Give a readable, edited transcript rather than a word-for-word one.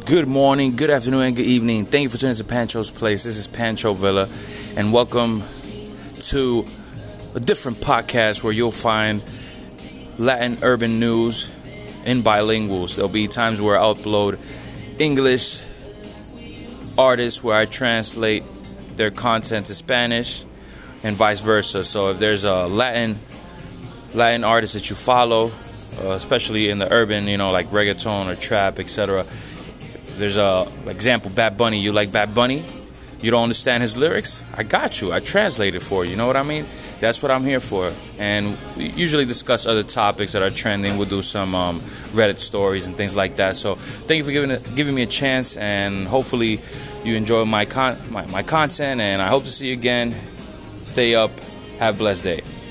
Good morning, good afternoon, and good evening. Thank you for tuning to Pancho's Place. This is Pancho Villa, and welcome to a different podcast where you'll find Latin urban news in bilinguals. There'll be times where I upload English artists where I translate their content to Spanish and vice versa. So if there's a Latin artist that you follow, especially in the urban, like reggaeton or trap, etc. There's a example, Bad Bunny. You like Bad Bunny? You don't understand his lyrics? I got you. I translate it for you. You know what I mean? That's what I'm here for. And we usually discuss other topics that are trending. We'll do some Reddit stories and things like that. So thank you for giving me a chance, and hopefully you enjoy my content. And I hope to see you again. Stay up. Have a blessed day.